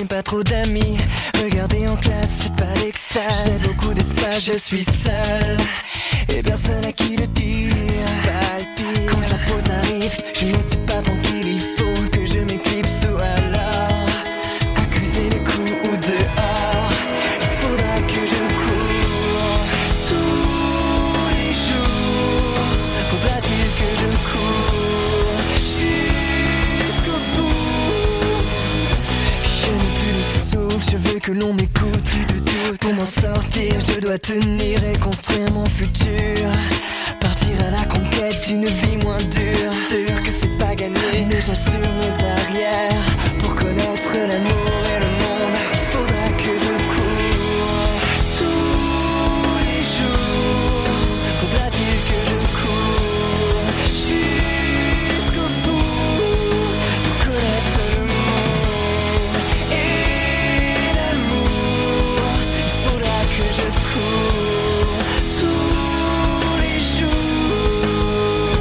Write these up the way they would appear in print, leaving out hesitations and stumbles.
n'ai pas trop d'amis. Regarder en classe, c'est pas l'extase. J'ai beaucoup d'espace, je suis seul et personne à qui le dire. Quand la pause arrive, je ne suis pas tranquille. Il faut que je m'éclipse ou alors accuser les coups ou dehors. Il faudra que je cours tous les jours. Faudra-t-il que je cours jusqu'au bout? Je n'ai plus de souffle, je veux que l'on m'écoute. Pour m'en sortir, je dois tenir et construire mon futur. Partir à la conquête d'une vie moins dure. Sûr que c'est pas gagné, mais j'assure mes arrières. Pour connaître l'amour et le monde, il faudra que je cours tous les jours. Faudra-t-il que je cours jusqu'au bout pour connaître le monde et l'amour? Il faudra que je cours tous les jours.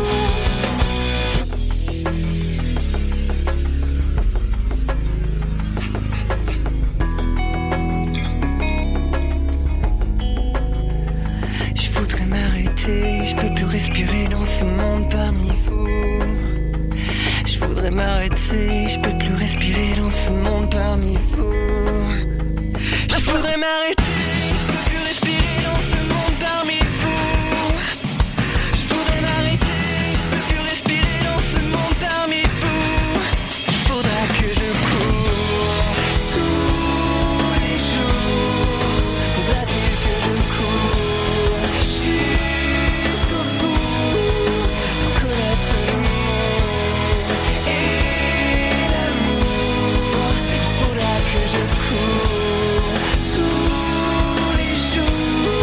Je voudrais m'arrêter, je peux plus respirer dans ce monde parmi vous. Je voudrais m'arrêter, je peux plus respirer dans ce monde parmi vous. Je voudrais m'arrêter, je peux plus respirer dans ce monde parmi vous. Je voudrais m'arrêter, je peux plus respirer dans ce monde parmi vous. Il faudra que je cours tous les jours. Faudra-t-il que je cours jusqu'au bout pour connaître le monde et l'amour? Il faudra que je cours tous les jours.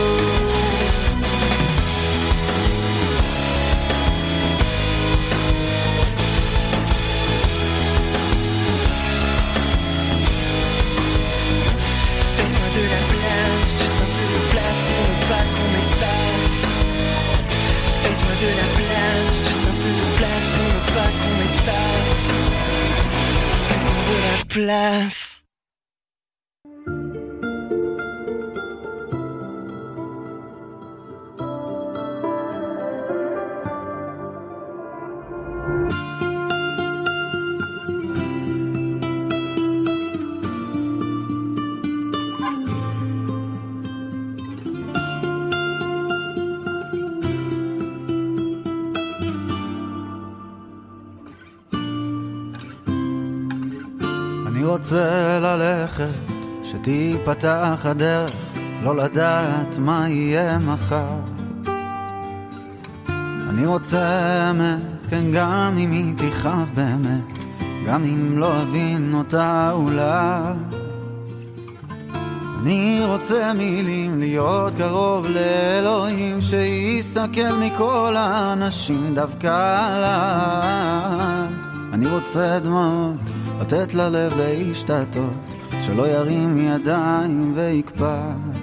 Fais-moi de la place, juste un peu de place pour ne pas qu'on m'épasse. Fais-moi de la place, juste un peu de place pour ne pas qu'on m'épasse. Fais-moi de la place. אני רוצה ללכת, שתיפתח הדרך, לא לדעת מה יהיה מחר. אני רוצה אמת, כן, גם אם היא תכאב באמת, גם אם לא אבין אותה אולי. אני רוצה מילים להיות קרוב לאלוהים, שיסתכל מכל האנשים דווקא עליי. אני רוצה דמעות, לתת ללב להשתתות, שלא ירים ידיים ויקפא.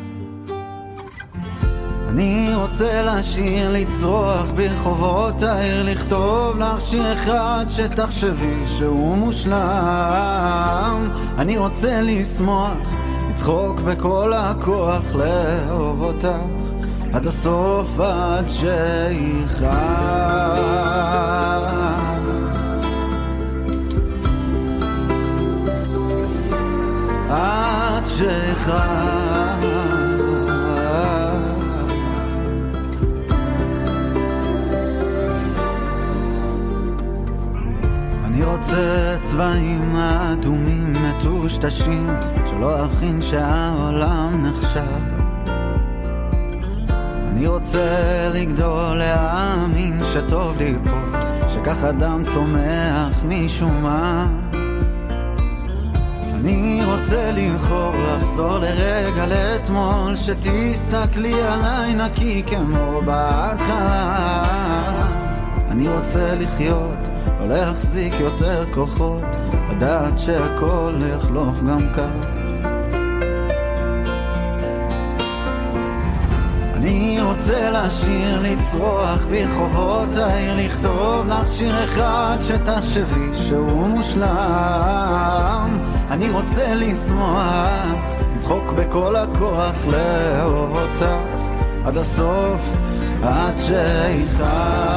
אני רוצה לשיר, לצרוח ברחובות העיר, לכתוב לך שיר אחד שתחשבי שהוא מושלם. אני רוצה לשמוח, לצחוק בכל הכוח, לאהוב אותך עד הסוף, עד שיכאב, עד שיכאב. אני רוצה צבעים אדומים מטושטשים, שלא אכין שהעולם נחשב. אני רוצה לגדול, להאמין שטוב לי פה, שכך אדם צומח משום מה. אני רוצה לבחור, לחזור לרגע לאתמול, שתסתכלי עליי נקי כמו בהתחלה. אני רוצה לחיות, לא להחזיק יותר כוחות, לדעת שהכל יחלוף גם כך. אני רוצה לשיר, לצרוח ברחובות העיר, לכתוב לך שיר אחד שתחשבי שהוא מושלם. אני רוצה לשמוח, לצחוק בכל הכוח, לאהוב אותך עד הסוף, עד שיכאב,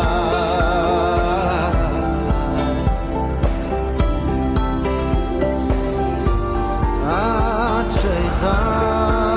עד שיכאב,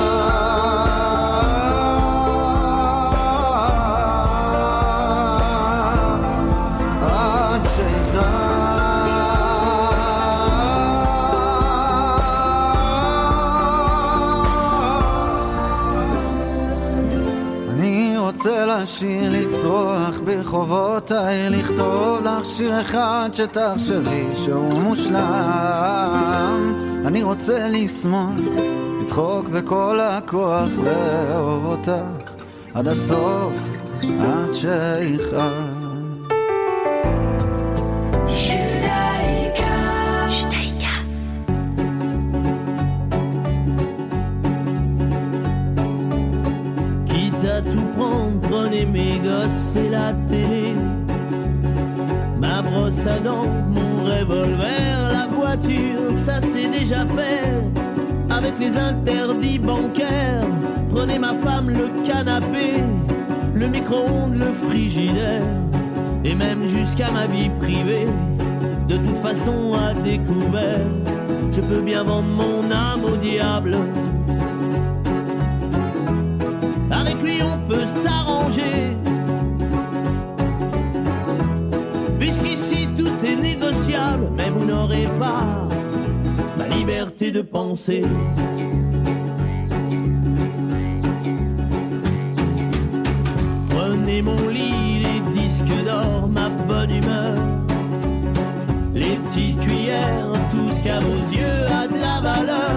רוצה לשיר, לצרוח ברחובותיי, לכתוב לך שיר אחד שתחשבי שהוא מושלם. אני רוצה לשמוח, לצחוק בכל הכוח, לאהוב אותך עד הסוף, עד שיכאב. Prenez mes gosses et la télé, ma brosse à dents, mon revolver, la voiture, ça c'est déjà fait. Avec les interdits bancaires, prenez ma femme, le canapé, le micro-ondes, le frigidaire, et même jusqu'à ma vie privée. De toute façon à découvert, je peux bien vendre mon âme au diable. Avec lui on peut s'arranger, puisqu'ici tout est négociable. Mais vous n'aurez pas ma liberté de penser. Prenez mon lit, les disques d'or, ma bonne humeur, les petites cuillères, tout ce qu'à vos yeux a de la valeur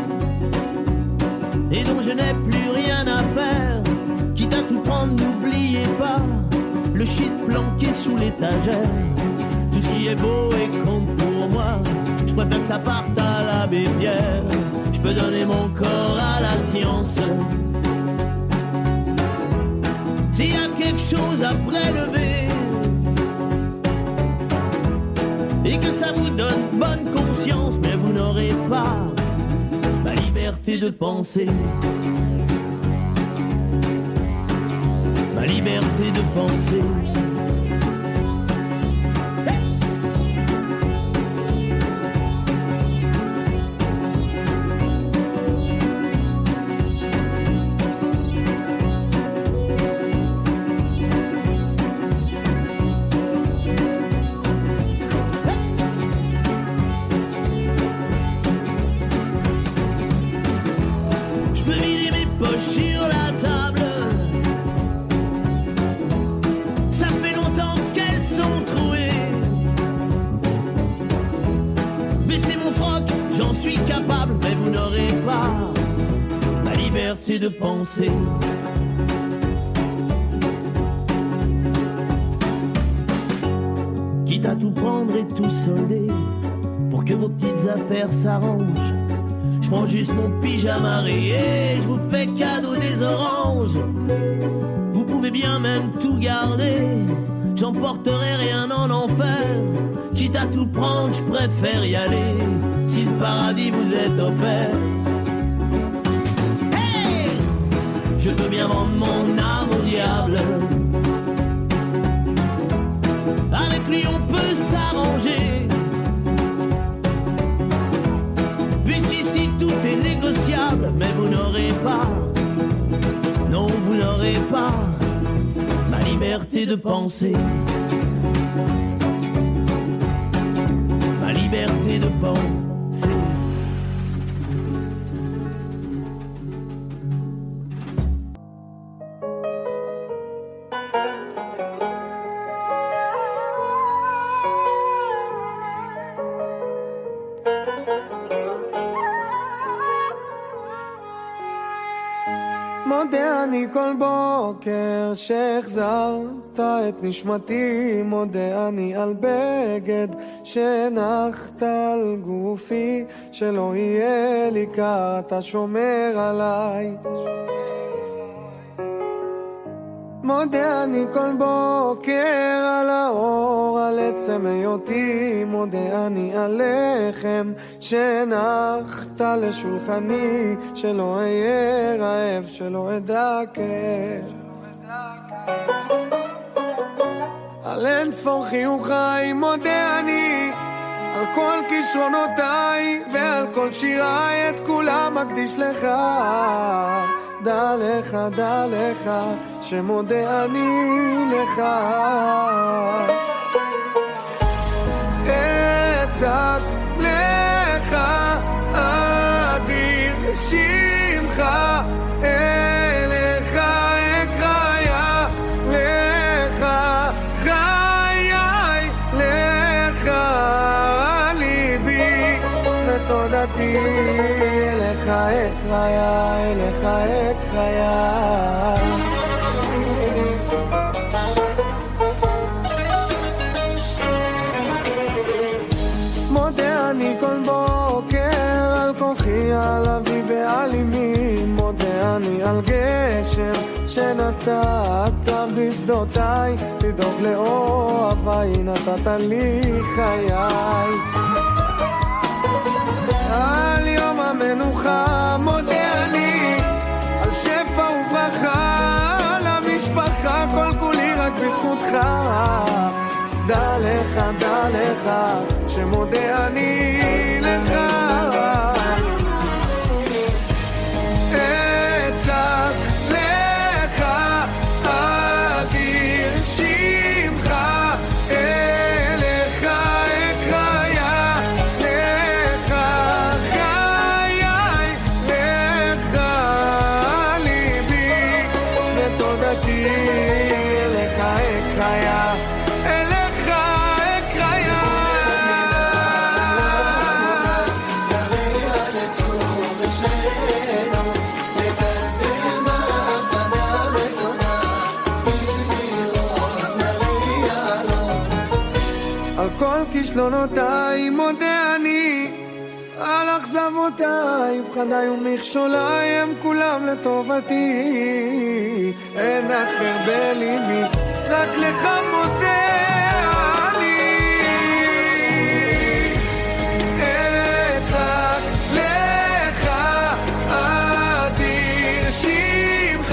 et dont je n'ai plus rien à faire. Quitte à tout prendre, n'oubliez pas le shit planqué sous l'étagère. Tout ce qui est beau et compte pour moi, je préfère que ça parte à l'abbé Pierre. Je peux donner mon corps à la science. S'il y a quelque chose à prélever et que ça vous donne bonne conscience, mais vous n'aurez pas ma liberté de penser. Ma liberté de penser. Je peux vider mes poches sur la table. J'en suis capable, mais vous n'aurez pas ma liberté de penser. Quitte à tout prendre et tout solder, pour que vos petites affaires s'arrangent, je prends juste mon pyjama rayé, je vous fais cadeau des oranges. Vous pouvez bien même tout garder, j'emporterai rien en enfer. Quitte à tout prendre, je préfère y aller, si le paradis vous est offert. Hey! Je peux bien vendre mon âme au diable. Avec lui on peut s'arranger, puisqu'ici tout est négociable. Mais vous n'aurez pas, non vous n'aurez pas ma liberté de penser. Ma liberté de penser. מודה אני כל בוקר שהחזרת את נשמתי, מודה אני על בגד שנחת על גופי, שלא יהיה לי קר, אתה שומר עליי. מודה אני כל בוקר על האור, על עצם היותי, מודה אני על לחם שנחת לשולחני, שלא אהיה רעב, שלא אדכא. על אין ספור חיוכי מודה אני, על כל כישרונותיי ועל כל שיריי, את כולם מקדיש לך. דע לך, שמודה אני לך. אצעק לך, אדיר שמך, אליך אקרא, לך חיי, לך ליבי ותודתי, אליך אקרא, אליך אקרא. מודה אני כל בוקר על כוחי, על אבי ועל אמי, מודה אני על גשם שנתת בשדותיי, לדאוג לאוהביי נתת לי חיי. על יום המנוחה מודה אני, על שפע וברכה למשפחה, כל כולי רק בזכותך. דע לך, שמודה אני לך. אצעק לך, אדיר שמך, אליך אקרא, לך חיי, לך ליבי ותודתי, אליך אקרא. כישלונותיי מודה אני, על אכזבותיי ופחדיי ומכשוליי, הם כולם לטובתי. אין אחר בליבי, רק לך מודה אני. אצעק לך, אדיר שמך,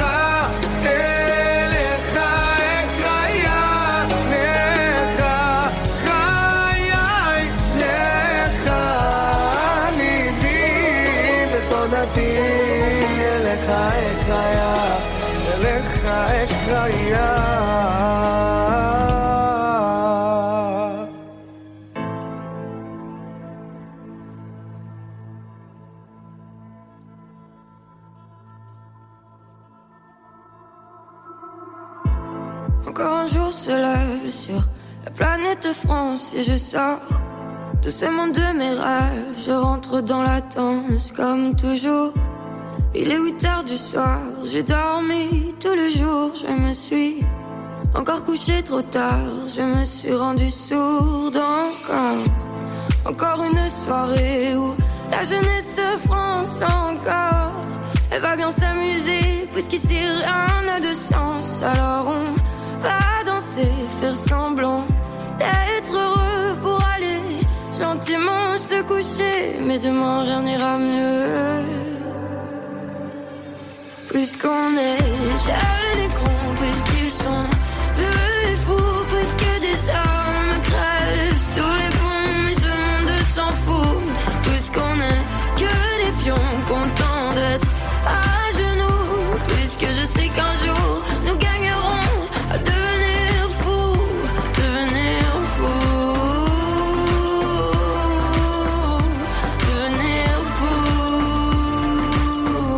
אליך אקרא, לך אליך אקרא, אליך אקרא. Encore un jour se lève sur la planète France et je sors de ce monde de mes rêves. Je rentre dans la danse comme toujours. Il est 8h du soir, j'ai dormi tout le jour. Je me suis encore couché trop tard, je me suis rendu sourde encore. Encore une soirée où la jeunesse France encore. Elle va bien s'amuser puisqu'ici rien n'a de sens. Alors on va danser, faire semblant d'être heureux pour aller gentiment se coucher. Mais demain rien n'ira mieux, puisqu'on est jeunes et cons, puisqu'ils sont vieux et fous, puisque des hommes crèvent sous les ponts, mais ce monde s'en fout, puisqu'on est que des pions contents d'être à genoux, puisque je sais qu'un jour nous gagnerons à devenir fous, devenir fous, devenir fous.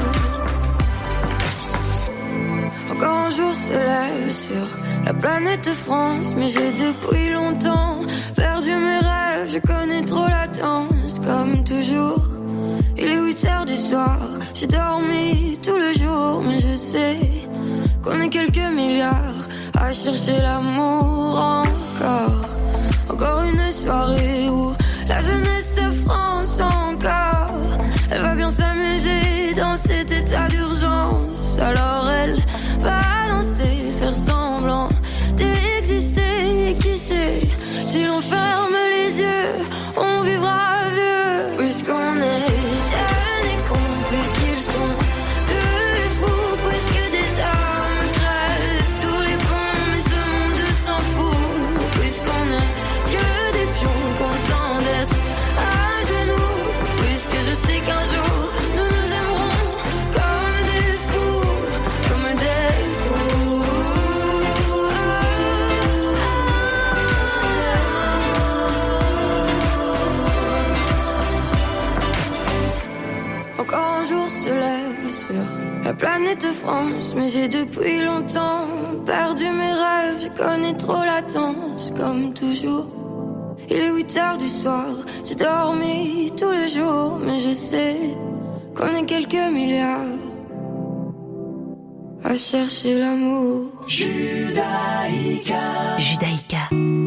Encore un jour se lève sur la planète France, mais j'ai depuis longtemps perdu mes rêves. Je connais trop la danse, comme toujours. Il est 8h du soir, j'ai dormi tout le jour, mais je sais qu'on est quelques milliards à chercher l'amour encore. Encore une soirée où la jeunesse France encore. Elle va bien s'amuser dans cet état d'urgence. Alors elle va danser, sur la planète France. Mais j'ai depuis longtemps perdu mes rêves. Je connais trop la danse, comme toujours. Il est 8h du soir, j'ai dormi tous les jours. Mais je sais qu'on est quelques milliards à chercher l'amour. Judaïka. Judaïka.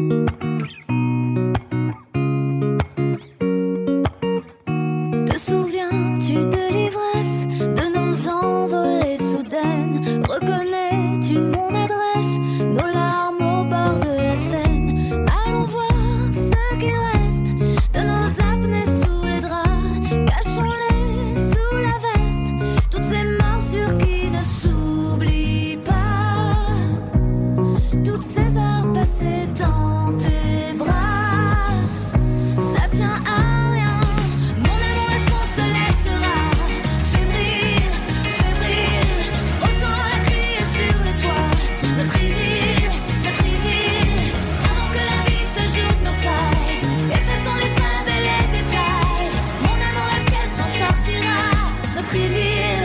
Te souviens-tu de l'ivresse de nos envolées soudaines? Reconnais-tu mon adresse? Nos larmes au bord de la Seine. Allons voir ce qui reste de nos apnées sous les draps. Cachons-les sous la veste. Toutes ces morsures qui ne s'oublient pas. Toutes ces heures passées dans tes bras. Ça tient à rien. Mon amour, est-ce qu'on se laissera fébrile, fébrile? Autant la crier sur les toits. Notre idylle, avant que la vie se joue de nos failles. Effaçons les preuves et les détails. Mon amour, est-ce qu'elle s'en sortira? Notre idylle,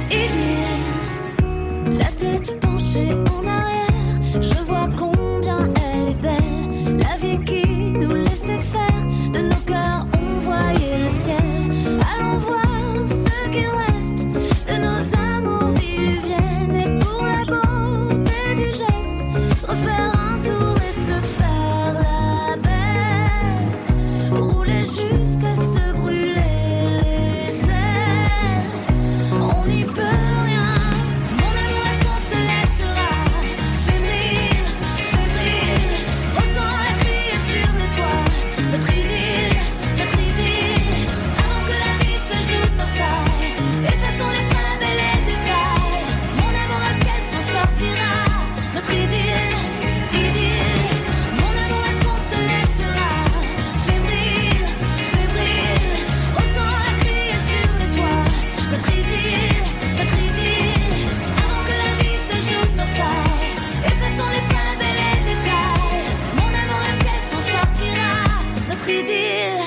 idylle. La tête penchée en arrière, je vois combien elle est belle. La vie qui nous laissait faire, de nos cœurs on voyait le ciel. Allons voir ce qu'il reste de nos amours diluviennes. Et pour la beauté du geste, refaire un tour et se faire la belle. Rouler jusqu'à se brûler les ailes. On n'y peut rien. Mon amour, est-ce qu'on se laissera fébrile, fébrile? Autant la crier sur les toits. Notre idylle, avant que la vie se joue de nos failles. Effaçons les preuves et les détails. Mon amour, est-ce qu'elle s'en sortira? Notre idylle, mon amour, est-ce qu'on se laissera fébrile, fébrile? Autant la crier sur les toits. Notre idylle, avant que la vie se joue de nos failles. Effaçons les preuves et les détails. Mon amour, est-ce qu'elle s'en sortira? Notre idylle,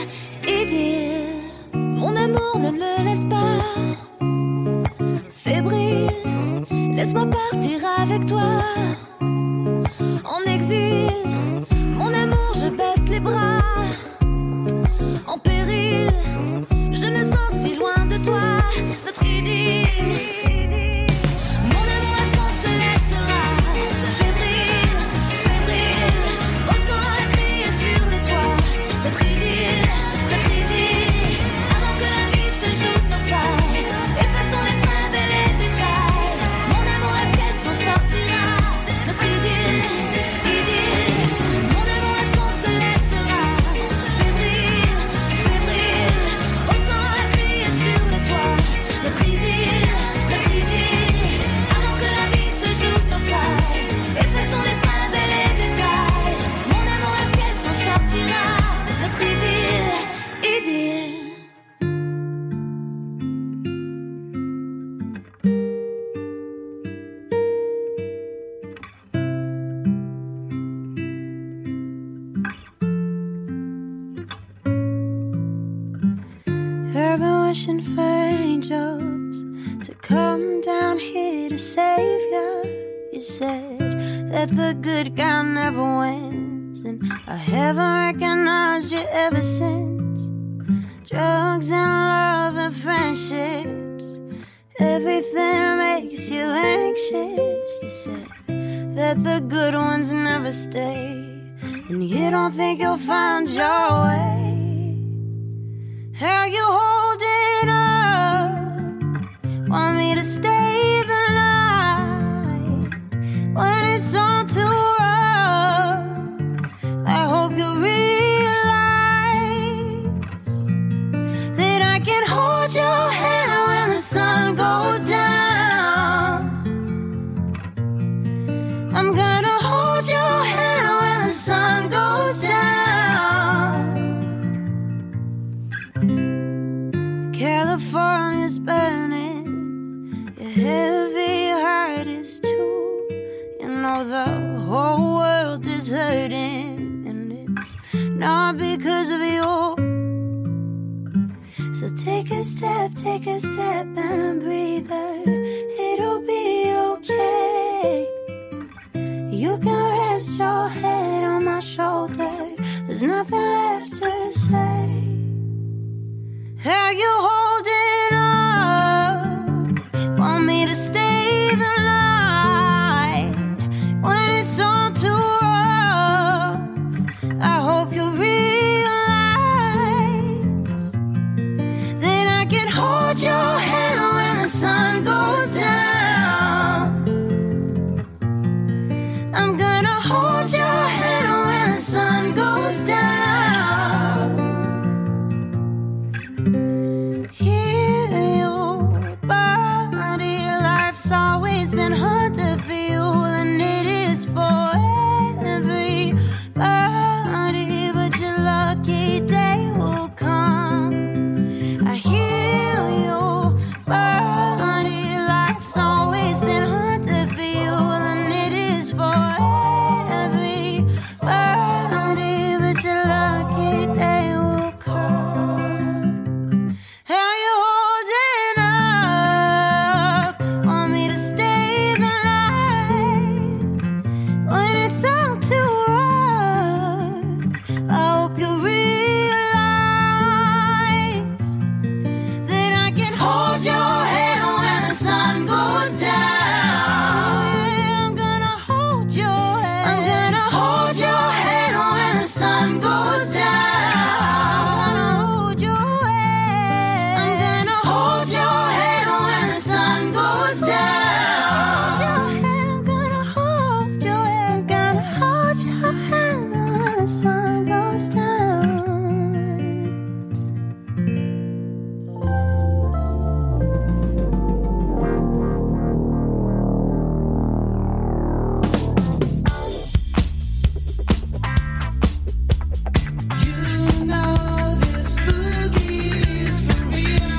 mon amour, ne me laisse pas fébrile. Laisse-moi partir avec toi en exil. Mon amour, je baisse les bras en péril. Je me sens si loin de toi. Notre idylle. Mon amour, est-ce qu'on se laissera fébrile, fébrile? Autant la crier sur les toits. Notre idylle, avant que la vie se joue de nos failles. Effaçons les preuves et les détails. Mon amour, est-ce qu'elle s'en sortira? Notre idylle, mon amour, est-ce qu'on se laissera fébrile, fébrile? Autant la crier sur les toits. Notre idylle, avant que la vie se joue de nos failles. Effaçons les preuves et les détails. Mon amour, est-ce qu'elle s'en sortira? Notre idylle. I've been wishing for angels to come down here to save you. You said that the good guy never wins, and I haven't recognized you ever since. Drugs and love and friendships, everything makes you anxious. You said that the good ones never stay, and you don't think you'll find your way. How you holding up? Want me to stay the night when it's all too rough? I hope you realize that I can hold your hand when the sun goes down. I'm gonna hold your hand when the sun goes down. California's burning, your heavy heart is too. You know the whole world is hurting, and it's not because of you. So take a step and breathe. It'll be okay. You can rest your head on my shoulder. There's nothing left to say. Are you holding up? Want me to stay the night when it's all too rough? I hope you realize that I can hold your hand when the sun goes down. I'm gonna hold your hand when the sun goes down. Hear your body, life's always been hard to feel, and it is for everybody. But your lucky day will come. I hear your body, life's always been hard to feel, and it is for everybody. But your lucky day will come. Are you holding up? Want me to stay the night when it's all too rough? I hope you realize that I can hold your hand when the sun goes down. I'm gonna hold your hand. I'm gonna hold your hand when the sun goes down. I'm gonna hold your hand. I'm gonna hold your hand when the sun goes down. I'm gonna hold your hand. Gonna hold your hand when the sun goes down. You know this boogie is for real.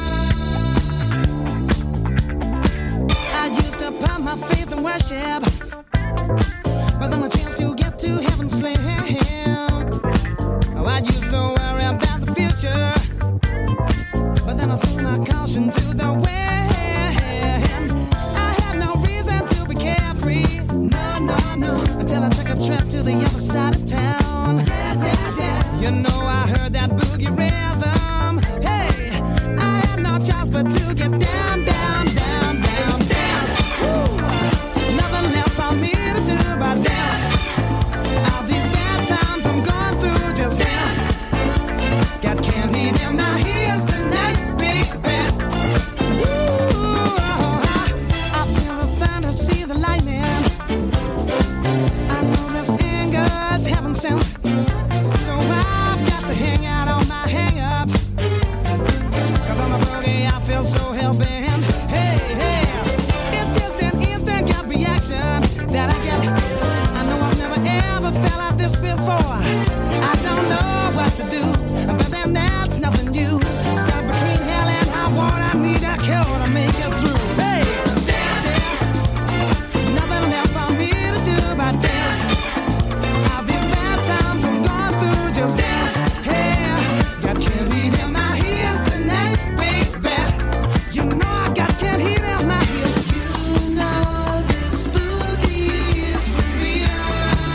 I used to put my faith in worship, but then a chance to get to heaven slim. Oh, I used to worry about the future, but then I threw my caution to the wind. I had no reason to be carefree, no, until I took a trip to the other side of town. You know I heard that boogie rhythm. Hey, I had no choice but to get down, dance. Woo. Nothing left for me to do but dance. All these bad times I'm going through, just dance. Got candy in my ears tonight, baby. Woo. I feel the thunder, see the lightning. I know this anger is heaven sent. So I've got to hang out on my hang-ups. 'Cause on the boogie I feel so hell-bent. Hey, it's just an instant gut reaction that I get. I know I've never ever felt like this before. I don't know what to do, but then that's nothing new. Stuck between hell and high water, I need a cure to make it through. Hey, dancing, nothing left for me to do but dance. All these bad times I'm going through, just dance. Hey, got candy in my ears tonight, baby. You know I got candy in my ears. You know this boogie is for real.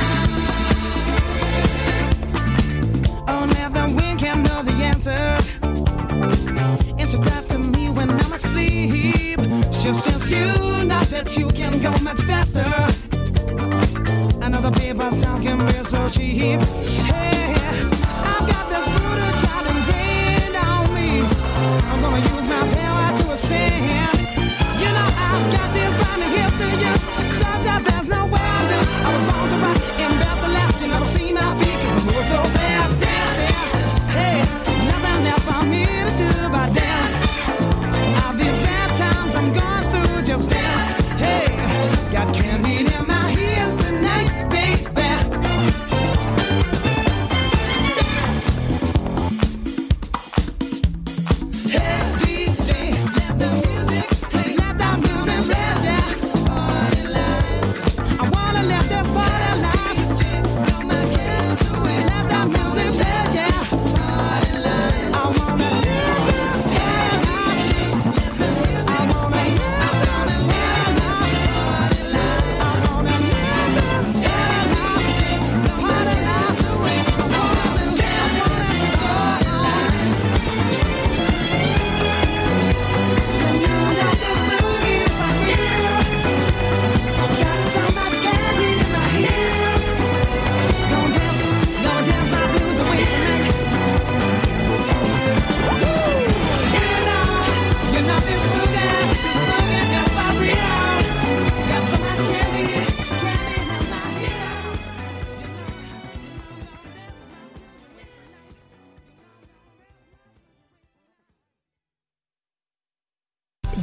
Only the wind can know the answer. It's a cries to me when I'm asleep. She says you know that you can go much faster. Another paper's town can be so cheap. Hey, I've got this voodoo child ingrained on me. I'm gonna use my power to ascend. You know I've got this burning gifts to use, such that there's no way I lose. I was born to rock and built to last. You never see my feet 'cause I move so fast, dancing. Hey, nothing left for me to do but dance. All these bad times I'm going through, just dance. Hey, got candy in my ears tonight, baby.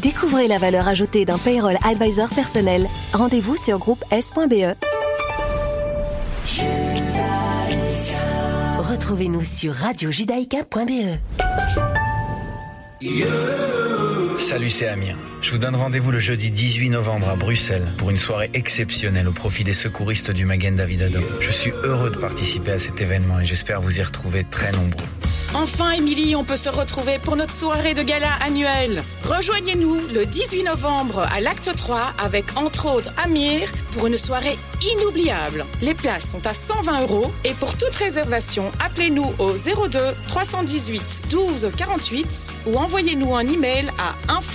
Découvrez la valeur ajoutée d'un payroll advisor personnel. Rendez-vous sur groupe S.be. Retrouvez-nous sur radiojudaïka.be. Salut, c'est Amir. Je vous donne rendez-vous le jeudi 18 novembre à Bruxelles pour une soirée exceptionnelle au profit des secouristes du Magen David Adom. Je suis heureux de participer à cet événement et j'espère vous y retrouver très nombreux. Enfin, Émilie, on peut se retrouver pour notre soirée de gala annuelle. Rejoignez-nous le 18 novembre à l'Acte 3 avec, entre autres, Amir pour une soirée inoubliable. Les places sont à 120 € et pour toute réservation, appelez-nous au 02 318 12 48 ou envoyez-nous un email à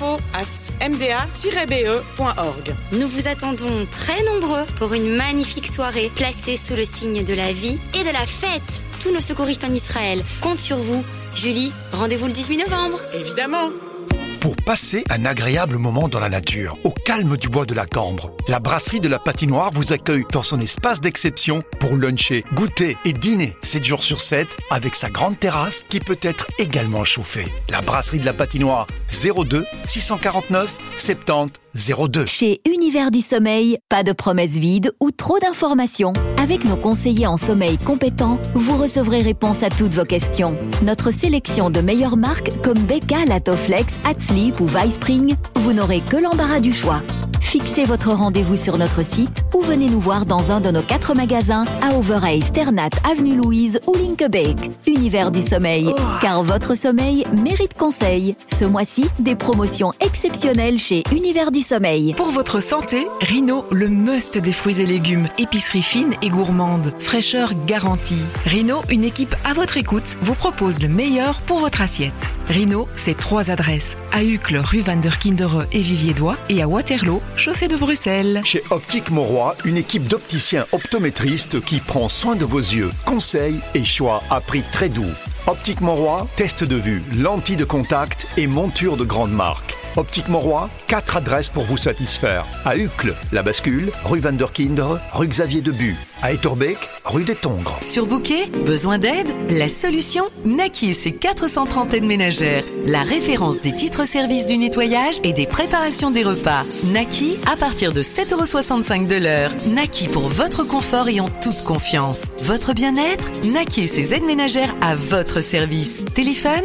info@mda-be.org. Nous vous attendons très nombreux pour une magnifique soirée placée sous le signe de la vie et de la fête. Tous nos secouristes en Israël comptent sur vous. Julie, rendez-vous le 18 novembre. Évidemment. Pour passer un agréable moment dans la nature, au calme du bois de la Cambre, la brasserie de la Patinoire vous accueille dans son espace d'exception pour luncher, goûter et dîner 7 jours sur 7 avec sa grande terrasse qui peut être également chauffée. La brasserie de la Patinoire, 02 649 70 02. Chez Univers du Sommeil, pas de promesses vides ou trop d'informations. Avec nos conseillers en sommeil compétents, vous recevrez réponse à toutes vos questions. Notre sélection de meilleures marques comme Beka, Latoflex, Hatsleep ou Vispring, vous n'aurez que l'embarras du choix. Fixez votre rendez-vous sur notre site ou venez nous voir dans un de nos 4 magasins à Overijse, Ternat, Avenue Louise ou Linkebeek. Univers du Sommeil, car votre sommeil mérite conseil. Ce mois-ci, des promotions exceptionnelles chez Univers du Sommeil. Pour votre santé, Rhino, le must des fruits et légumes. Épicerie fine et gourmande. Fraîcheur garantie. Rhino, une équipe à votre écoute, vous propose le meilleur pour votre assiette. Rhino, c'est 3 adresses. À Uccle, rue Van der Kindere et Vivier-Dois et à Waterloo, chaussée de Bruxelles. Chez Optique Mauroy, une équipe d'opticiens optométristes qui prend soin de vos yeux. Conseils et choix à prix très doux. Optique Mauroy, test de vue, lentilles de contact et monture de grande marque. Optique Mauroy, 4 adresses pour vous satisfaire. À Uccle, La Bascule, rue Van der Kindere, rue Xavier Debu. À Etterbeek, rue des Tongres. Surbooké? Besoin d'aide? La solution? Naki et ses 430 aides ménagères. La référence des titres-services du nettoyage et des préparations des repas. Naki à partir de 7,65 € de l'heure. Naki pour votre confort et en toute confiance. Votre bien-être? Naki et ses aides ménagères à votre service. Téléphone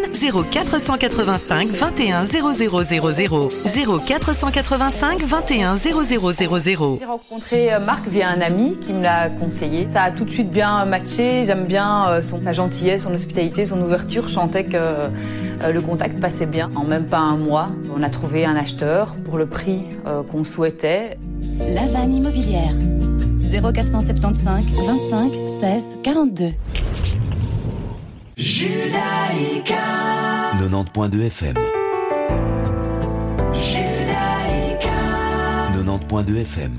0485 21 0000 0485 21 0000. J'ai rencontré Marc via un ami qui me l'a conseillé. Ça a tout de suite bien matché. J'aime bien sa gentillesse, son hospitalité, son ouverture. Je sentais que le contact passait bien. En même pas un mois, on a trouvé un acheteur pour le prix qu'on souhaitait. La Vanne Immobilière. 0475 25 16 42. Judaïka 90.2 FM. Judaïka 90.2 FM.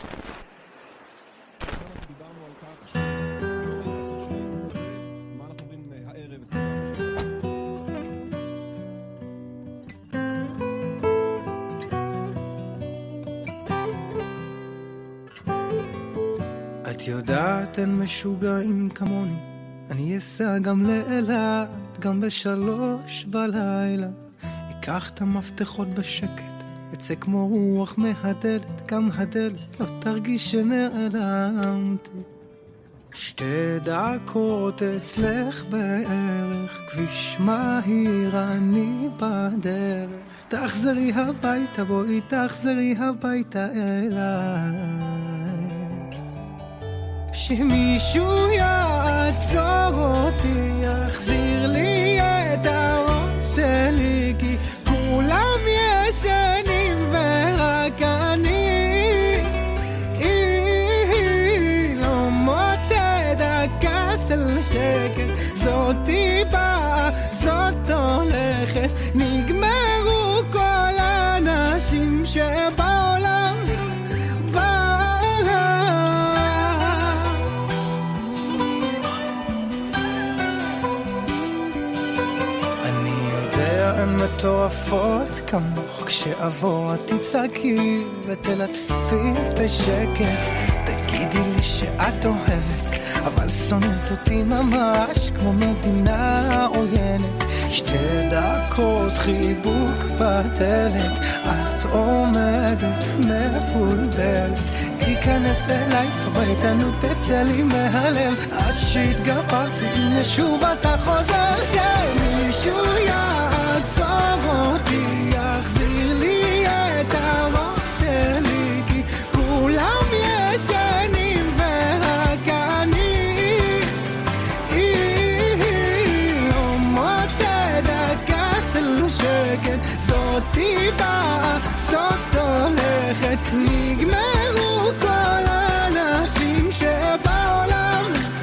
את יודעת אין משוגעים כמוני, אני אסע גם לאילת, גם ב3 בלילה. אקח את המפתחות בשקט, אצא כמו רוח מהדלת, גם הדלת לא תרגיש שנעלמתי. 2 דקות אצלך בערך, כביש מהיר אני בדרך. תחזרי הביתה, בואי תחזרי הביתה אליי. שמישהו יעצור אותי, יחזיר לי את הראש שלי, כי כולם ישנים ורק אני לא מוצא דקה של שקט. זאתי באה, זאת הולכת, נגמרו כל האנשים שבעולם. הן מטורפות כמוך, כשאבוא תצעקי ותלטפי בשקט. תגידי לי שאת אוהבת, אבל שונאת אותי ממש כמו מדינה עוינת. 2 דקות חיבוק בדלת, עומדת מבולבלת תיכנס אליי ואיתנו תצא לי מהלב עד שהתגברתי הנה שוב אתה חוזר שמישהו יעצור אותי יחזיר לי את הראש שלי כי כולם ישנים ורק אני לא מוצא דקה של שקט זאתי באה זאת הולכת נגמרו כל האנשים שבעולם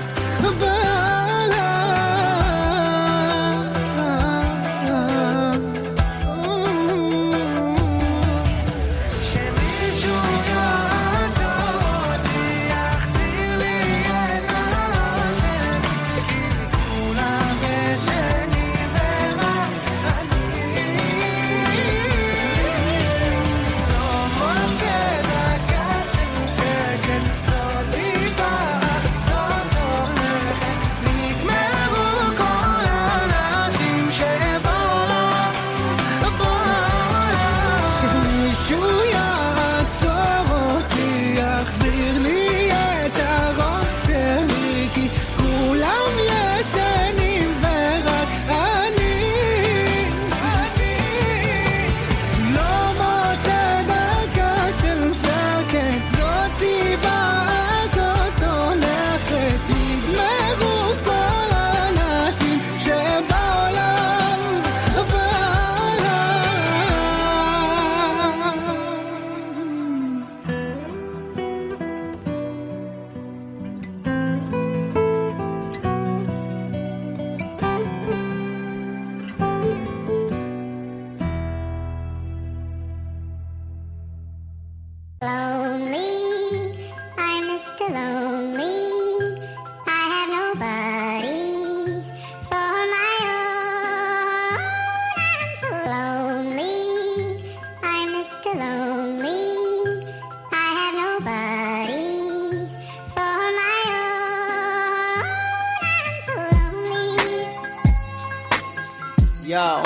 Yo,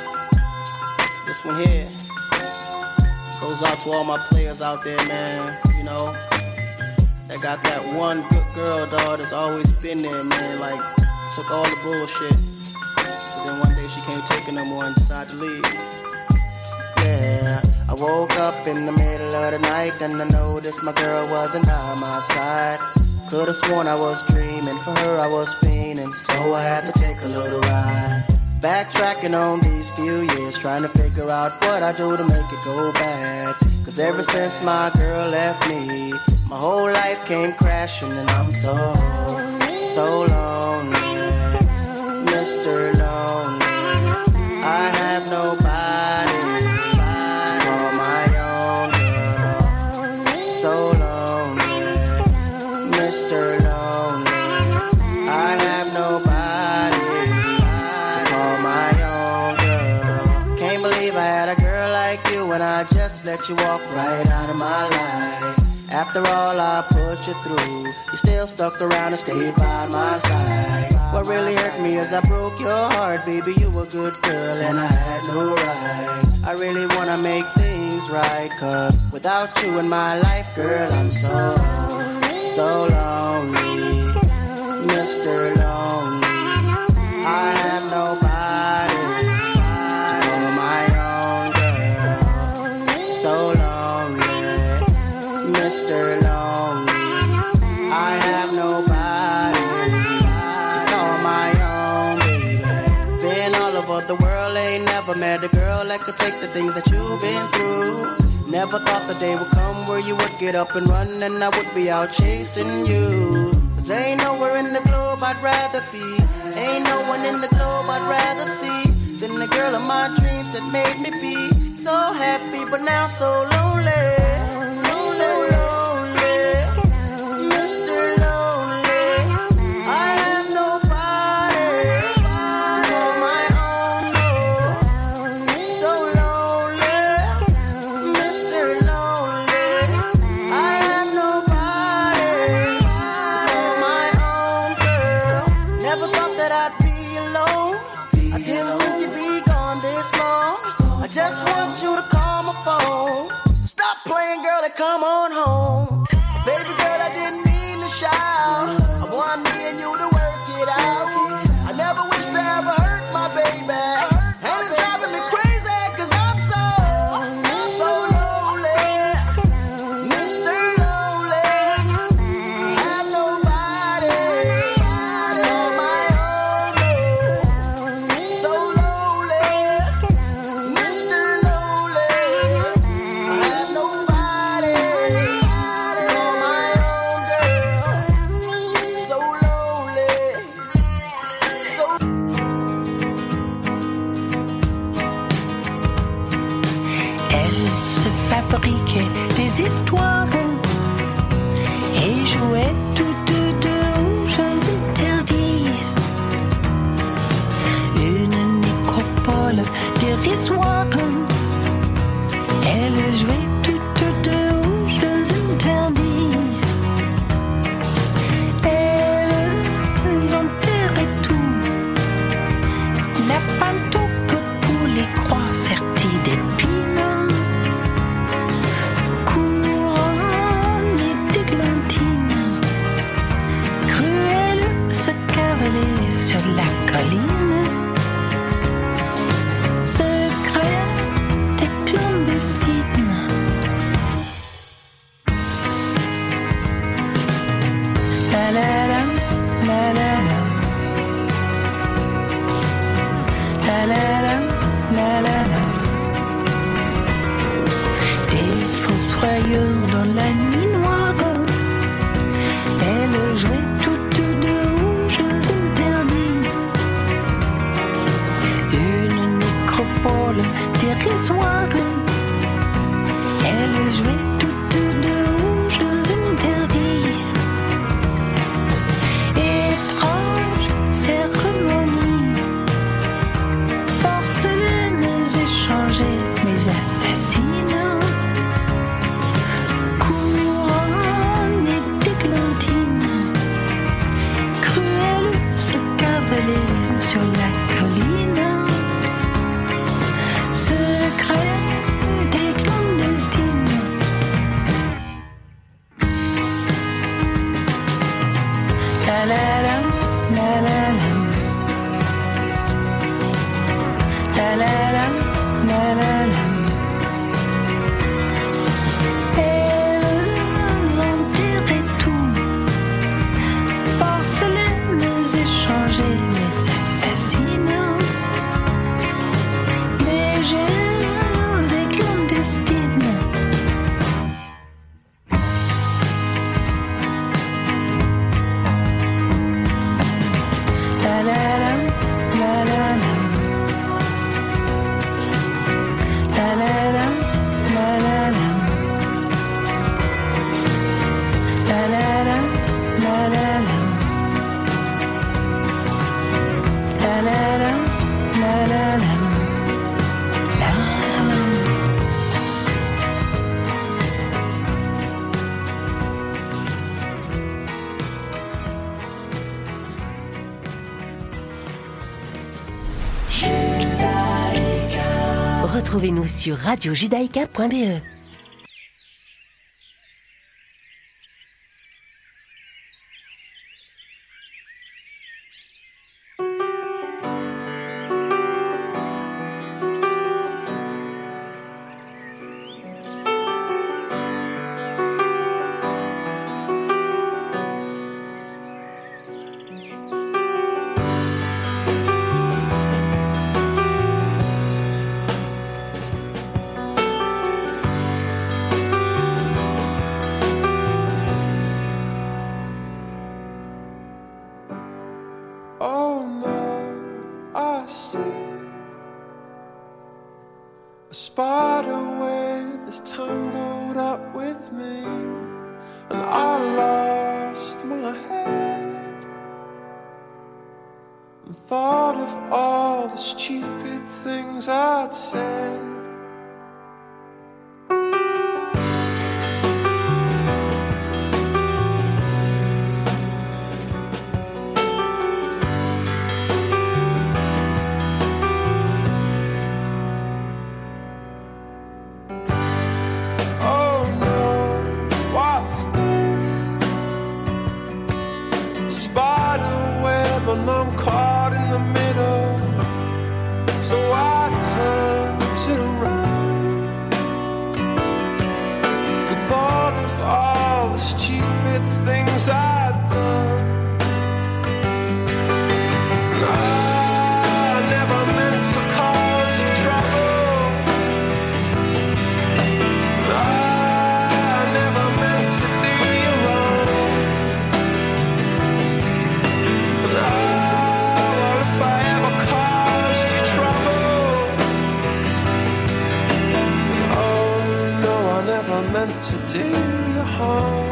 this one here goes out to all my players out there, man. You know, that got that one good girl, dog, that's always been there, man. Like, took all the bullshit. But then one day she can't take it no more and decided to leave. Yeah, I woke up in the middle of the night and I noticed my girl wasn't by my side. Could've sworn I was dreaming, for her I was fiending, so I had to take a little ride. Backtracking on these few years, trying to figure out what I do to make it go bad. Cause ever since my girl left me, my whole life came crashing and I'm so lonely, Mr. Lonely. I have nobody to call my own girl. So lonely, Mr. Lonely. I have nobody to call my own girl. Can't believe I had a girl like you and I just let you walk right out of my life. After all I put you through, you still stuck around and stayed by my side. What really hurt me is I broke your heart, baby, you a good girl and I had no right. I really wanna make things right, cause without you in my life, girl, I'm so lonely, Mr. Lonely. I have nobody to call my own girl. So lonely, Mr. Lonely. I have nobody to call my own baby. Been all over the world, ain't never met a girl that could take the things that you've been through. Never thought the day would come where you would get up and run and I would be out chasing you. Cause ain't nowhere in the globe I'd rather be, ain't no one in the globe I'd rather see than the girl of my dreams that made me be so happy but now so lonely. So lonely, Mr. Lonely. I have nobody to call my own, no. So lonely, Mr. Lonely. I have nobody to call my own girl. Never thought that I'd be alone. I didn't think you'd be gone this long. I just want you to call my phone. come on home. Baby girl, I didn't mean to shout. I want me and you to work it out. I never wish to ever hurt my baby. And it's driving me crazy, cause I'm so lonely. Mr. Lonely. I have nobody on my own. So lonely. Mr. Lonely. I have nobody on my own, girl. So lonely. Elle se fabriquait des histoires et jouait toutes deux aux jeux interdits. Une nécropole dérisoire. Elle jouait toutes deux aux jeux interdits. Elles enterraient tout. La pantoupe pour les croix serties d'épines. Couronnées d'églantines. Cruelle se cavalait sur la colline. Secrète et clandestine. La la la, la la la. La la la, la la la. Des fossoyeurs dans la nuit noire. Elles jouaient toutes deux aux jeux interdits. Une nécropole dérisoire. Elles jouaient toutes deux aux jeux interdits. Étrange cérémonie. Porcelaines échangées, mes assassines. Couronnées d'églantines. Cruelles se cavalaient sur la colline. Secrète et clandestine. La la la, la la la. La la la, la la la. Elles enterraient tout. Porcelaines échangées, mes assassines. Légères et clandestines. La la la, la la la. La la la, la la la. La la la, la la la. La la la, la la la. Retrouvez-nous sur radiojudaïka.be. Oh no, I see a spider web is tangled up with me, and I lost my head and thought of all the stupid things I'd said. Oh no, meant to do you harm.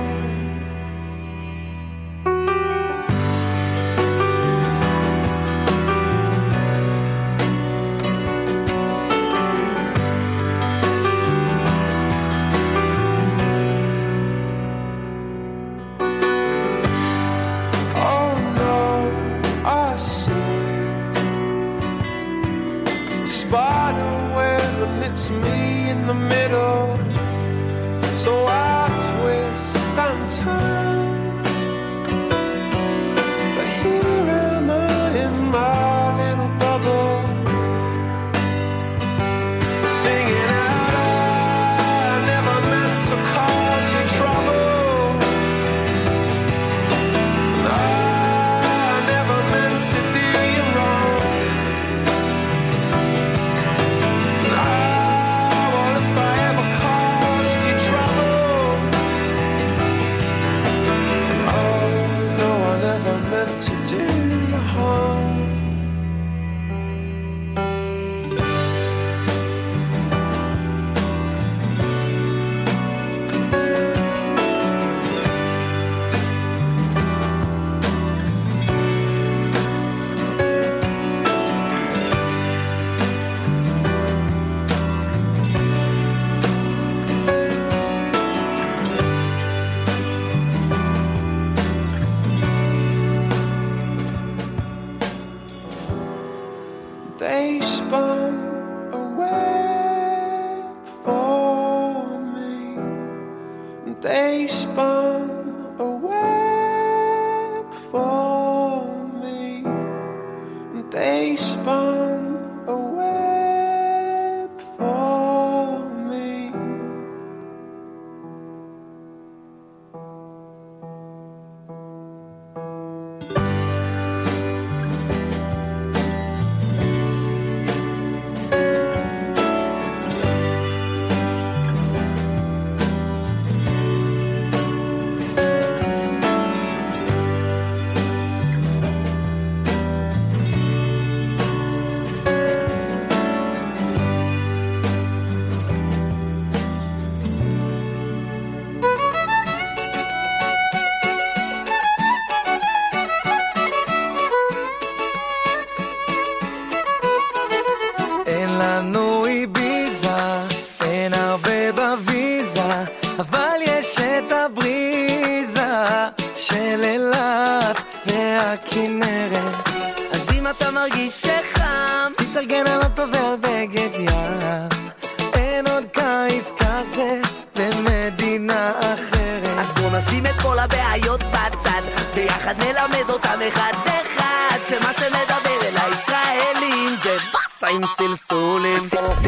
It's me in the middle, so I twist and turn. But here am I in my little bubble, singing out, I never meant to cause you trouble. I never meant to do you wrong. To do you harm. They spun a web for me. They spun a web for me. They spun a web for me. אבל יש את הבריזה של אילת והכנרת. אז אם אתה מרגיש שחם, תתארגן על אוטו ועל בגד ים. אין עוד קיץ כזה במדינה אחרת. אז בוא נשים את כל הבעיות בצד, ביחד נלמד אותם אחד אחד, שמה שמדבר אל הישראלים זה בסה עם סלסולים.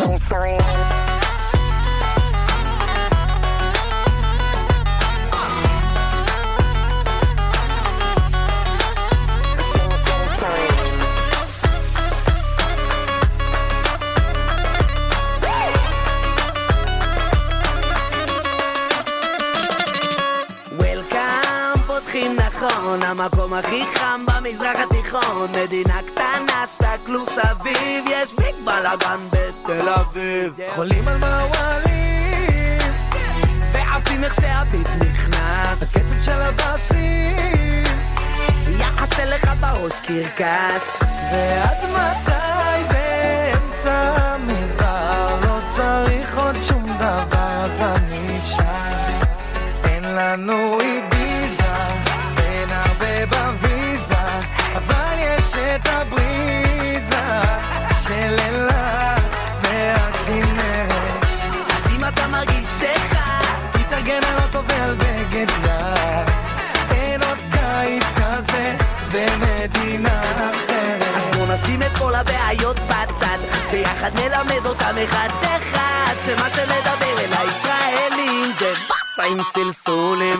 נכון, המקום הכי חם במזרח התיכון, מדינה קטנה, סתכלו סביב, יש ביג בלגן בתל אביב. חולים על מעוולים ועפים איך שהביט נכנס, הקצב של הבאסים יעשה לך בראש קרקס. ועד מתי באמצע מדבר לא צריך עוד שום דבר, אז אני שם. אין לנו איביזה בין הרבה בוויזה, אבל יש את הבריזה של אילת והכנרת. אז אם אתה מרגיש שחם, תתארגן על אוטו ועל בגד ים. אין עוד קיץ כזה במדינה אחרת. אז בוא נשים את כל הבעיות בצד, ביחד נלמד אותם אחד אחד, שמה שמדבר אל הישראלים זה בסה עם סלסולים.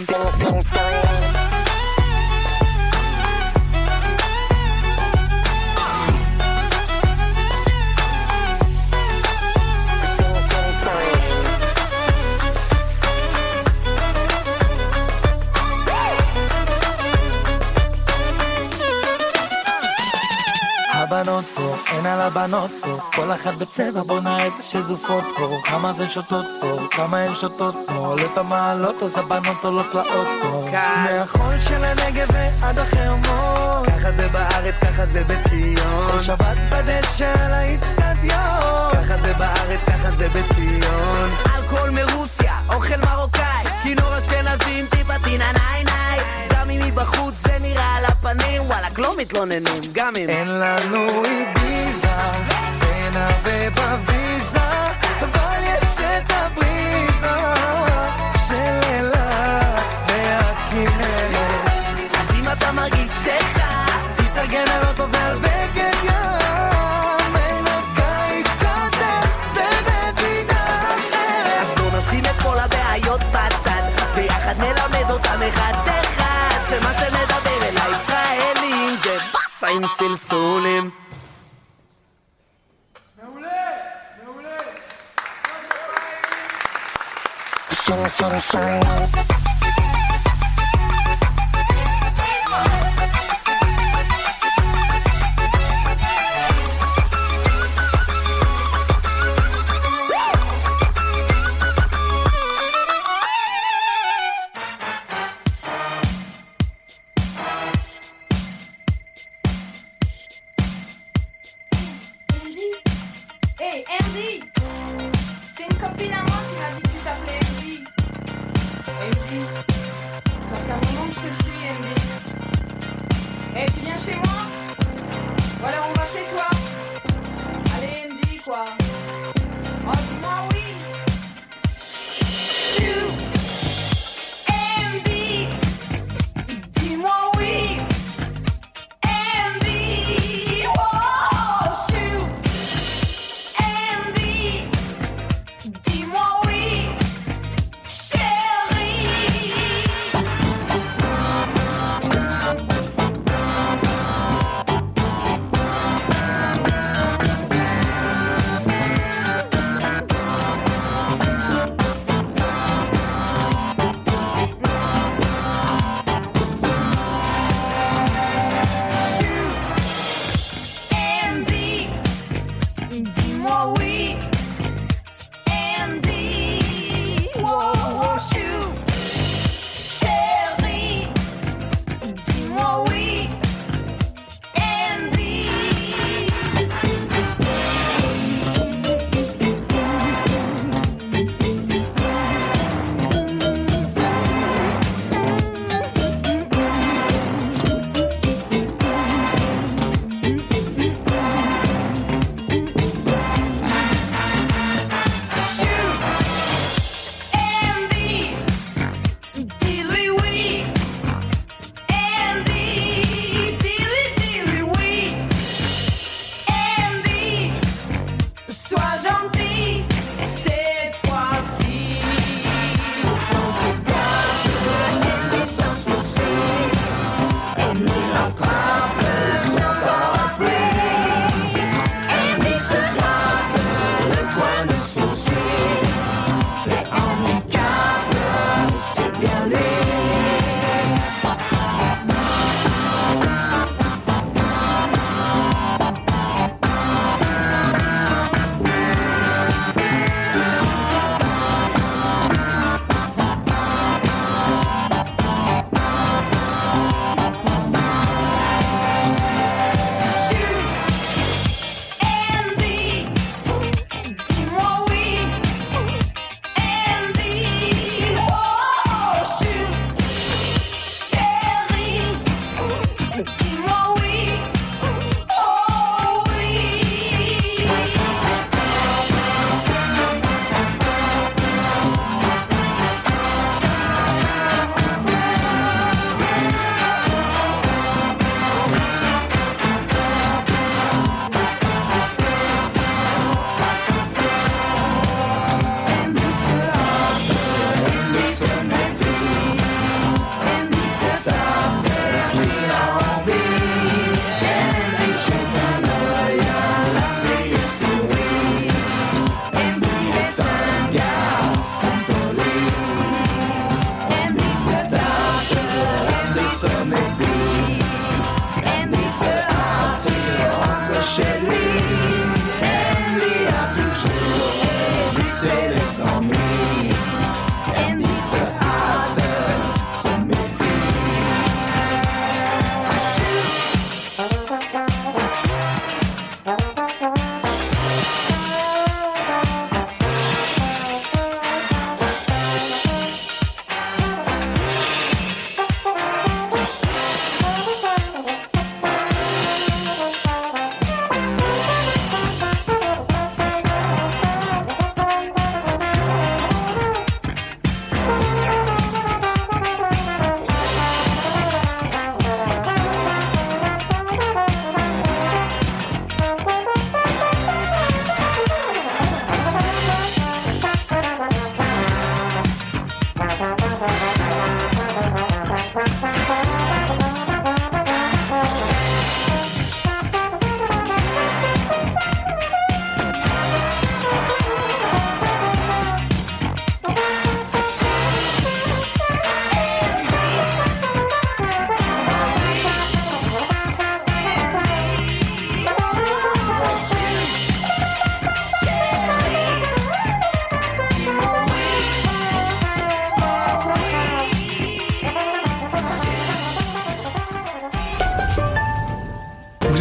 הבנות פה, אין על הבנות פה, כל אחת בצבע בונה את שזופות פה, כמה זה שותות פה, כמה הן שותות פה, עולות המעלות אז הבנות עולות לאוטו, מהחול של הנגב ועד החרמון, ככה זה בארץ, ככה זה בציון, כל שבת בדשא על האצטדיון, ככה זה בארץ, ככה זה בציון, אלכוהול מרוסיה, אוכל מרוקאי, כינור אשכנזים, טיפה טינה ניי ניי, גם אם מבחוץ זה נראה על הפנים, וואלק לא מתלוננים, גם אם אין לנו איביזה, אין הרבה בוויזה, אבל יש את הבריזה של אילת והכנרת. אז אם אתה מרגיש שכה, תתארגן על אוטו ועל בגד ים, אין הקיץ כזה במדינה אחרת. אז בוא נשים את כל הבעיות בצד, ביחד נלמד אותם אחד אחד, שמה שמדבר אל הישראלים זה בסה עם סלסולים. Hey Andy, c'est une copine à moi qui m'a dit que tu t'appelais Andy. Andy, ça fait un moment que je te suis Andy. Hey, tu viens chez moi? Ou alors on va chez toi? Allez Andy quoi. Oh dis-moi oui. Chou, Andy, dis-moi oui. Andy, oh chou. Dis-moi oui, chérie.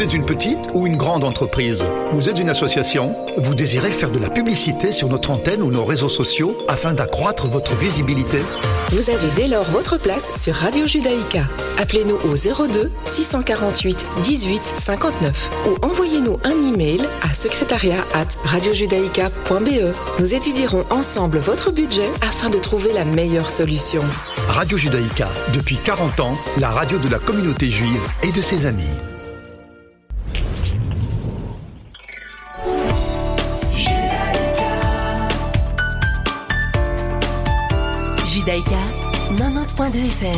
êtes une petite ou une grande entreprise? Vous êtes une association? Vous désirez faire de la publicité sur notre antenne ou nos réseaux sociaux afin d'accroître votre visibilité? Vous avez dès lors votre place sur Radio Judaïka. Appelez-nous au 02 648 18 59 ou envoyez-nous un email à secrétariat@radiojudaïka.be. Nous étudierons ensemble votre budget afin de trouver la meilleure solution. Radio Judaïka, depuis 40 ans, la radio de la communauté juive et de ses amis. Judaïka, 90.2 FM.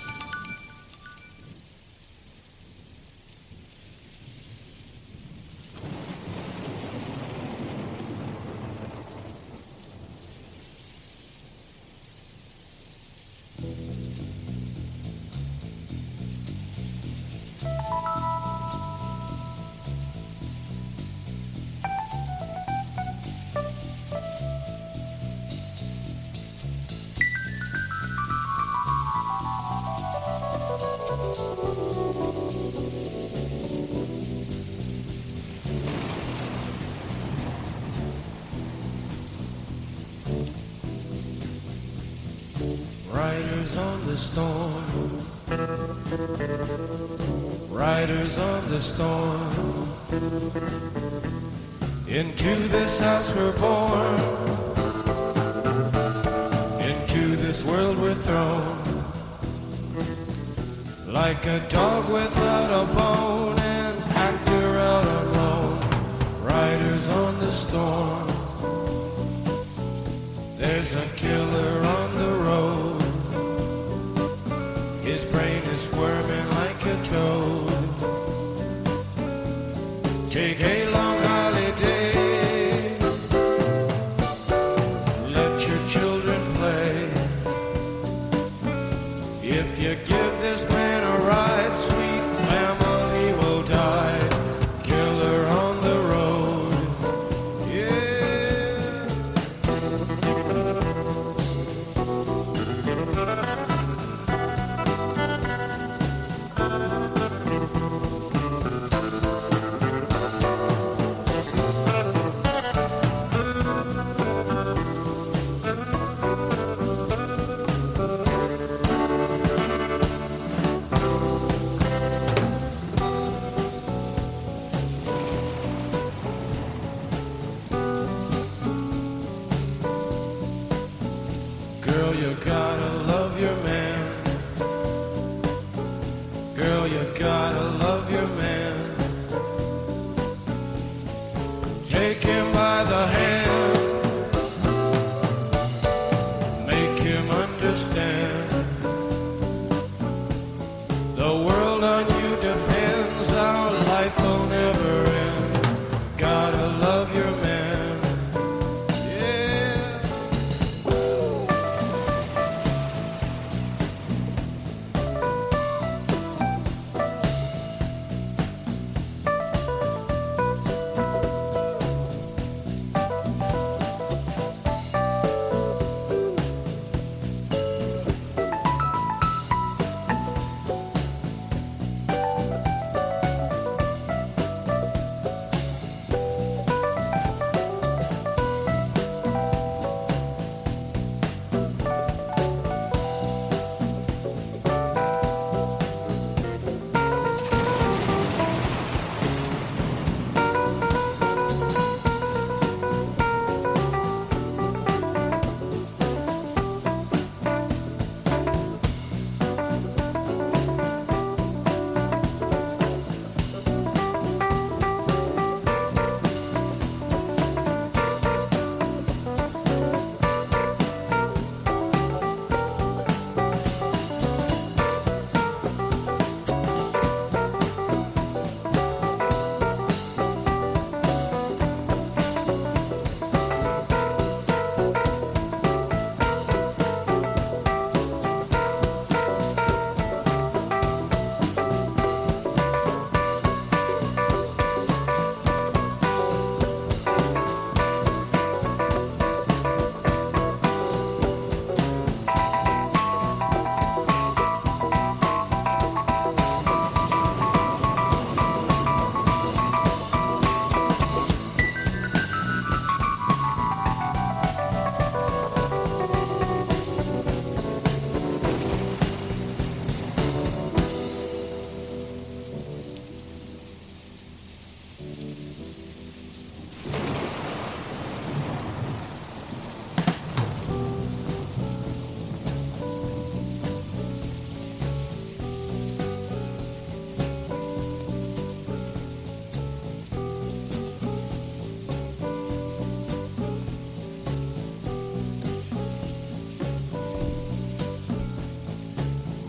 Riders on the storm, riders on the storm. Into this house we're born, into this world we're thrown. Like a dog without a bone, an actor out alone. Riders on the storm, there's a killer on the road. His brain is squirming like a toad. Take a long holiday, let your children play. If you give this man a ride, sweet family will die. Killer on the road, yeah.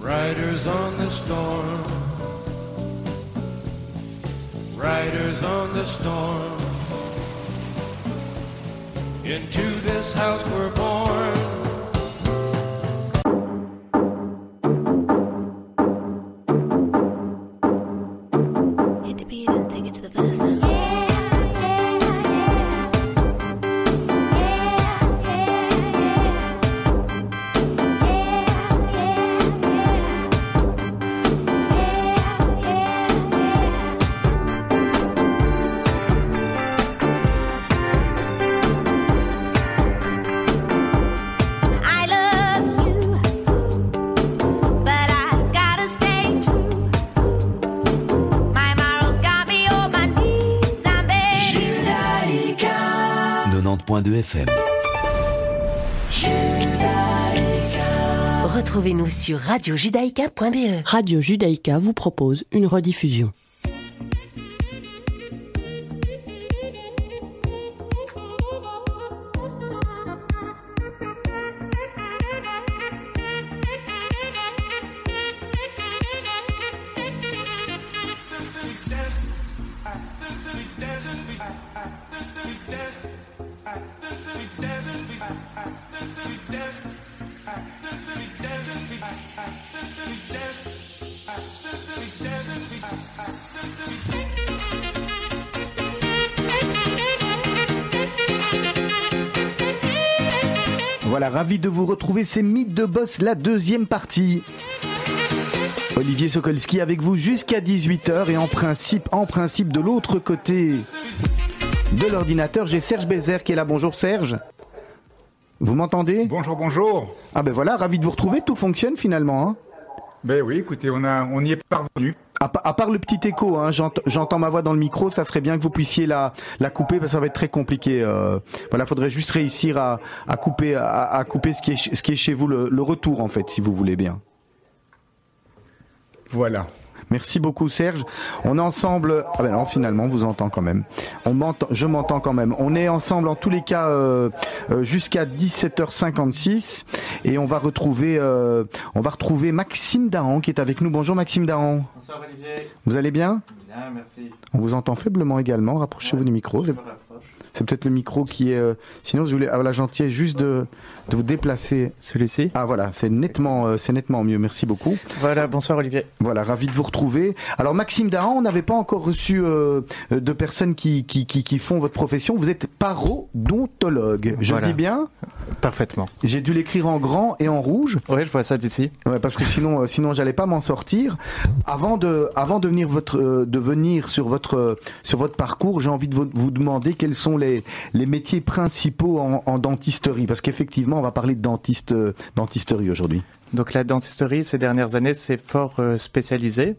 Riders on the storm. Riders on the storm. Into this house we're born. Hit the beat and take it to the verse now. FM. Retrouvez-nous sur radiojudaïka.be. Radio Judaïka vous propose une rediffusion. Voilà, ravi de vous retrouver, c'est Mythes de Boss, la deuxième partie. Olivier Sokolski avec vous jusqu'à 18h et en principe de l'autre côté de l'ordinateur, j'ai Serge Bézère qui est là. Bonjour Serge. Vous m'entendez ? Bonjour. Ah ben voilà, ravi de vous retrouver, tout fonctionne finalement. Hein. Ben oui, écoutez, on y est parvenu. À part le petit écho, hein, j'entends ma voix dans le micro, ça serait bien que vous puissiez la couper parce que ça va être très compliqué. Voilà, faudrait juste réussir à couper ce qui est chez vous, le retour en fait, si vous voulez bien. Voilà. Merci beaucoup Serge. On est ensemble. Ah ben non, finalement, on vous entend quand même. Je m'entends quand même. On est ensemble en tous les cas jusqu'à 17h56 et on va retrouver Maxime Dahan qui est avec nous. Bonjour Maxime Dahan. Bonsoir Olivier. Vous allez bien ? Bien, merci. On vous entend faiblement également. Rapprochez-vous du micro. C'est peut-être le micro qui est. Sinon, vous voulez avoir la gentillesse juste de vous déplacer. Celui-ci. Ah voilà, c'est nettement mieux. Merci beaucoup. Voilà, bonsoir Olivier. Voilà, ravi de vous retrouver. Alors Maxime Dahan, on n'avait pas encore reçu de personnes qui font votre profession. Vous êtes parodontologue. Je le dis bien ? Parfaitement. J'ai dû l'écrire en grand et en rouge. Oui, je vois ça d'ici. Ouais, parce que sinon j'allais pas m'en sortir. Avant de venir sur votre parcours, j'ai envie de vous demander quels sont les métiers principaux en dentisterie, parce qu'effectivement on va parler de dentisterie aujourd'hui. Donc la dentisterie ces dernières années c'est fort spécialisé,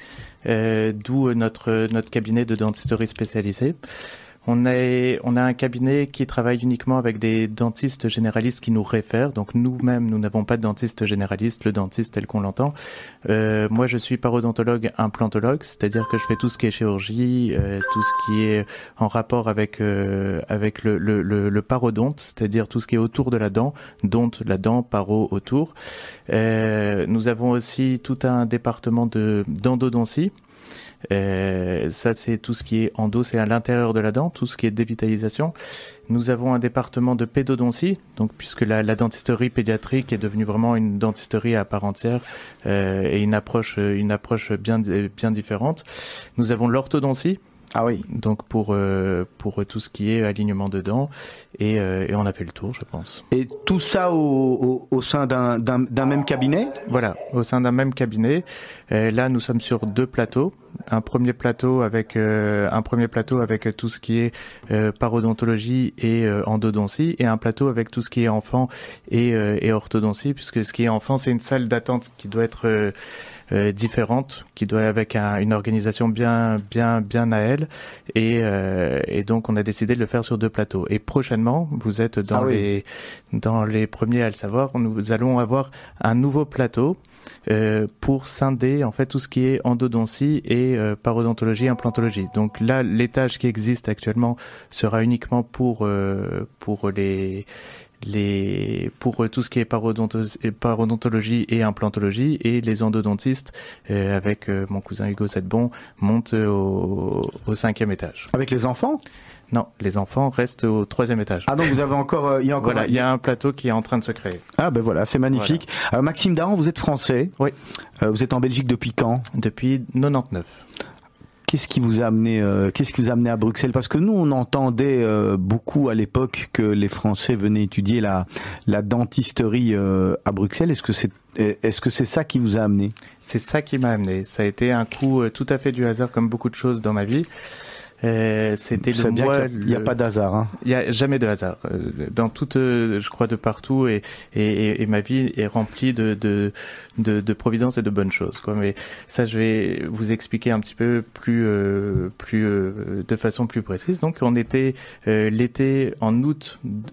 d'où notre cabinet de dentisterie spécialisé. On a un cabinet qui travaille uniquement avec des dentistes généralistes qui nous réfèrent. Donc nous-mêmes, nous n'avons pas de dentiste généraliste, le dentiste tel qu'on l'entend. Moi, je suis parodontologue implantologue, c'est-à-dire que je fais tout ce qui est chirurgie, tout ce qui est en rapport avec le parodonte, c'est-à-dire tout ce qui est autour de la dent, donte, la dent, paro, autour. Nous avons aussi tout un département d'endodontie. Ça c'est tout ce qui est endo, c'est à l'intérieur de la dent, tout ce qui est dévitalisation. Nous avons un département de pédodontie, donc puisque la dentisterie pédiatrique est devenue vraiment une dentisterie à part entière et une approche bien différente. Nous avons l'orthodontie. Ah oui. Donc pour tout ce qui est alignement de dents et on a fait le tour, je pense. Et tout ça au sein d'un même cabinet ? Voilà, au sein d'un même cabinet. Là, nous sommes sur 2 plateaux. Un premier plateau avec tout ce qui est parodontologie et endodontie, et un plateau avec tout ce qui est enfant et orthodontie, puisque ce qui est enfant, c'est une salle d'attente qui doit être différente, qui doit avec une organisation bien à elle, et donc on a décidé de le faire sur 2 plateaux. Et prochainement, vous êtes dans les premiers à le savoir, nous allons avoir un nouveau plateau pour scinder en fait tout ce qui est endodontie et parodontologie, implantologie. Donc là, l'étage qui existe actuellement sera uniquement pour les pour tout ce qui est parodontologie et implantologie, et les endodontistes avec mon cousin Hugo Sedbon montent au 5e étage. Avec les enfants ? Non, les enfants restent au 3e étage. Ah donc vous avez encore, il y a encore. Voilà, il y a un plateau qui est en train de se créer. Ah ben voilà, c'est magnifique. Voilà. Maxime Dahan, vous êtes français. Oui. Vous êtes en Belgique depuis quand ? Depuis 99. Qu'est-ce qui vous a amené à Bruxelles ? Parce que nous, on entendait beaucoup à l'époque que les Français venaient étudier la dentisterie à Bruxelles. Est-ce que c'est ça qui vous a amené ? C'est ça qui m'a amené. Ça a été un coup tout à fait du hasard, comme beaucoup de choses dans ma vie. C'était le mois. Il n'y a pas d'hasard. Hein. Il n'y a jamais de hasard. Dans toute, je crois, de partout, et ma vie est remplie de providence et de bonnes choses, quoi. Mais ça, je vais vous expliquer un petit peu plus de façon plus précise. Donc, on était l'été en août